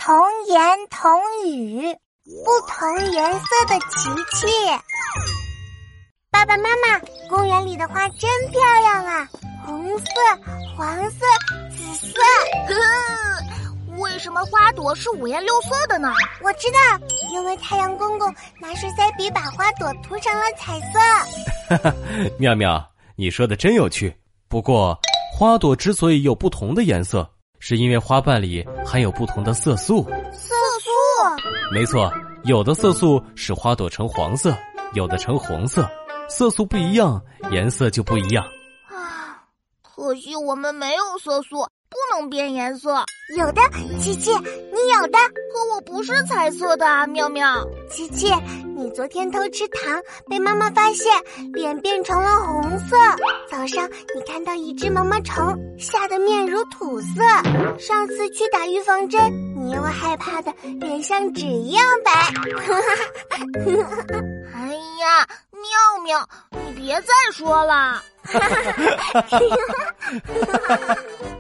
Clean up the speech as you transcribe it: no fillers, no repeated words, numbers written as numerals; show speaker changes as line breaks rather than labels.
童言童语，不同颜色的琪琪。爸爸妈妈，公园里的花真漂亮啊，红色、黄色、紫色。
为什么花朵是五颜六色的呢？
我知道，因为太阳公公拿水彩笔把花朵涂成了彩色。
妙妙，你说的真有趣。不过，花朵之所以有不同的颜色，是因为花瓣里含有不同的色素。
色素？
没错，有的色素使花朵呈黄色，有的呈红色。色素不一样，颜色就不一样。
可惜我们没有色素，不能变颜色。
有的，琪琪，你有的。
可我不是彩色的啊，妙妙。
琪琪，你昨天偷吃糖，被妈妈发现，脸变成了红色。早上你看到一只毛毛虫，吓得面如土色。上次去打预防针，你因为害怕的脸像纸一样白。
哎呀，妙妙，你别再说了。